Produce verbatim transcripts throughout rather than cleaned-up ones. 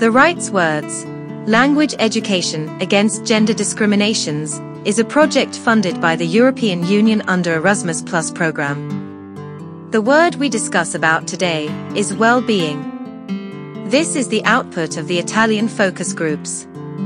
The Rights Words, Language Education Against Gender Discriminations, is a project funded by the European Union under Erasmus Plus program. The word we discuss about today is well-being. This is the output of the Italian focus groups.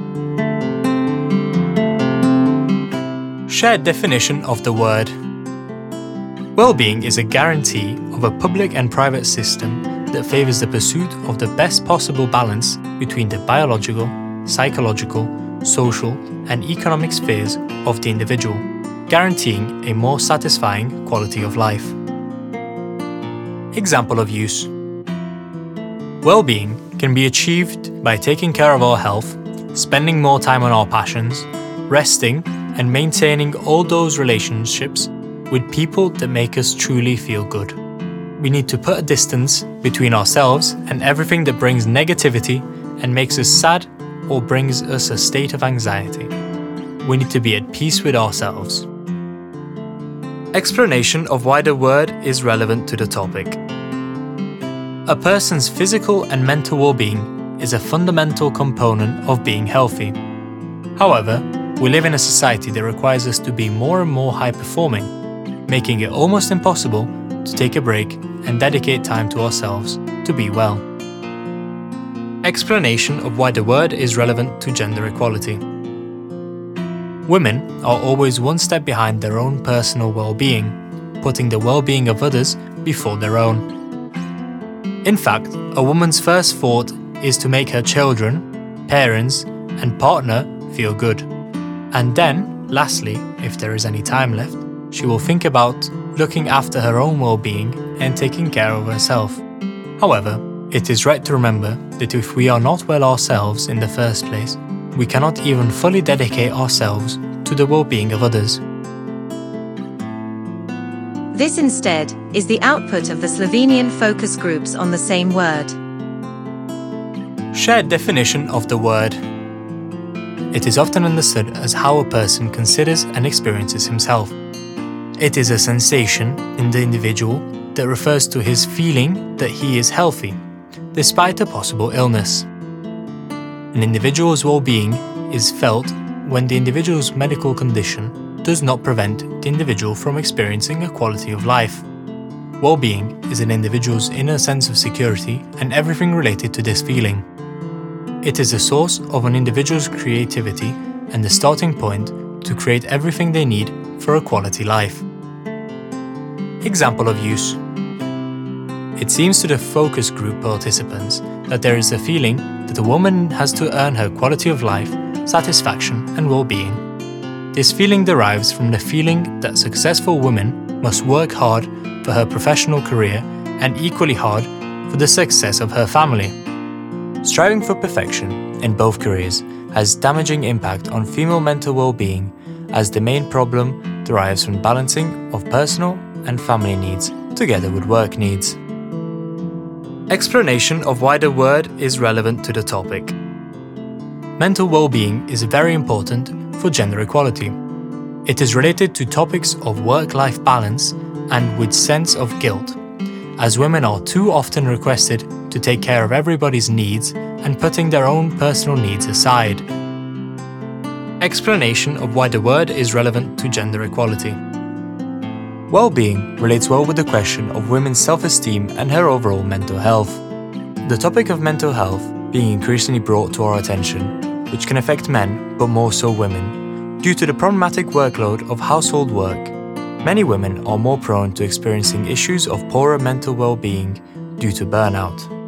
Shared definition of the word. Well-being is a guarantee of a public and private system that favors the pursuit of the best possible balance between the biological, psychological, social, and economic spheres of the individual, guaranteeing a more satisfying quality of life. Example of use. Well-being can be achieved by taking care of our health, spending more time on our passions, resting, and maintaining all those relationships with people that make us truly feel good. We need to put a distance between ourselves and everything that brings negativity and makes us sad or brings us a state of anxiety. We need to be at peace with ourselves. Explanation of why the word is relevant to the topic. A person's physical and mental well-being is a fundamental component of being healthy. However, we live in a society that requires us to be more and more high-performing, making it almost impossible to take a break and dedicate time to ourselves to be well. Explanation of why the word is relevant to gender equality. Women are always one step behind their own personal well-being, putting the well-being of others before their own. In fact, a woman's first thought is to make her children, parents, and partner feel good. And then, lastly, if there is any time left, she will think about looking after her own well-being and taking care of herself. However, it is right to remember that if we are not well ourselves in the first place, we cannot even fully dedicate ourselves to the well-being of others. This instead is the output of the Slovenian focus groups on the same word. Shared definition of the word. It is often understood as how a person considers and experiences himself. It is a sensation in the individual that refers to his feeling that he is healthy, despite a possible illness. An individual's well-being is felt when the individual's medical condition does not prevent the individual from experiencing a quality of life. Well-being is an individual's inner sense of security and everything related to this feeling. It is the source of an individual's creativity and the starting point to create everything they need for a quality life. Example of use. It seems to the focus group participants that there is a feeling that a woman has to earn her quality of life, satisfaction, and well-being. This feeling derives from the feeling that successful women must work hard for her professional career and equally hard for the success of her family. Striving for perfection in both careers has damaging impact on female mental well-being, as the main problem derives from balancing of personal and family needs together with work needs. Explanation of why the word is relevant to the topic. Mental well-being is very important for gender equality. It is related to topics of work-life balance and with sense of guilt, as women are too often requested to take care of everybody's needs and putting their own personal needs aside. Explanation of why the word is relevant to gender equality. Well-being relates well with the question of women's self-esteem and her overall mental health. The topic of mental health being increasingly brought to our attention, which can affect men but more so women, due to the problematic workload of household work. Many women are more prone to experiencing issues of poorer mental well-being due to burnout.